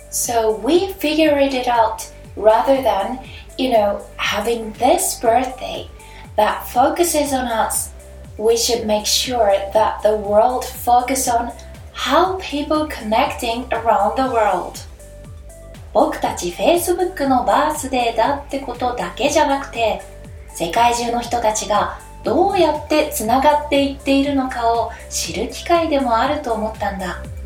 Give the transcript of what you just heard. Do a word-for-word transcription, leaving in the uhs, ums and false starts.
So we figured it out rather than, you know, having this birthday that focuses on us. We should make sure that the world focus on how people connecting around the world. 僕たち Facebook のバースデーだってことだけじゃなくて、世界中の人たちがどうやってつながっていっているのかを知る機会でもあると思ったんだ。